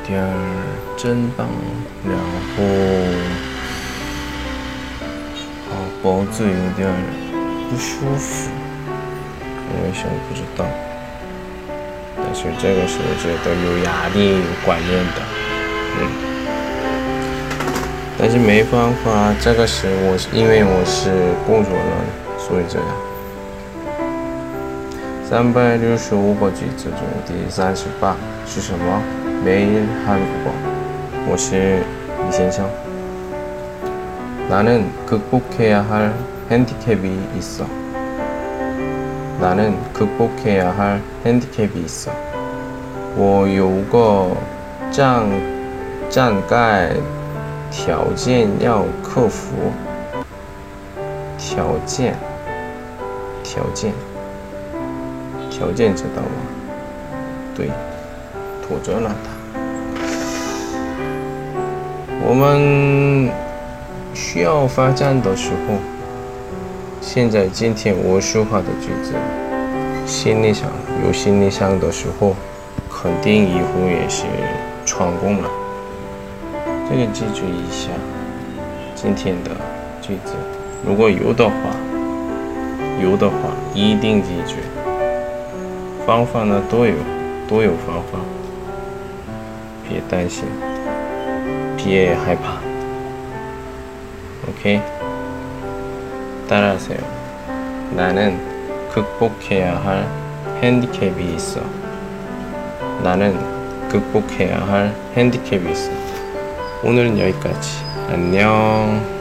点真棒，然后脖子有点不舒服，为什么不知道？但是这个是我觉得有压力有关联的，但是没办法，这个是因为我是工作人，所以这样。365个句子中第38是什么？매일 한국어。我是李先生。나는 극복해야 할 핸디캡이 있어. 나는 극복해야 할 핸디캡이 있어. 我有个障碍条件要克服。条件知道吗？对，拖着了它。我们需要发展的时候，今天我说话的句子，心理上的时候，肯定以后也是成功了。这个记住一下，今天的句子，如果有的话，一定记住。方法呢都有方法，别担心，别害怕。OK， 따라하세요. 나는 극복해야 할 핸디캡이 있어. 나는 극복해야 할 핸디캡이 있어. 오늘은 여기까지. 안녕.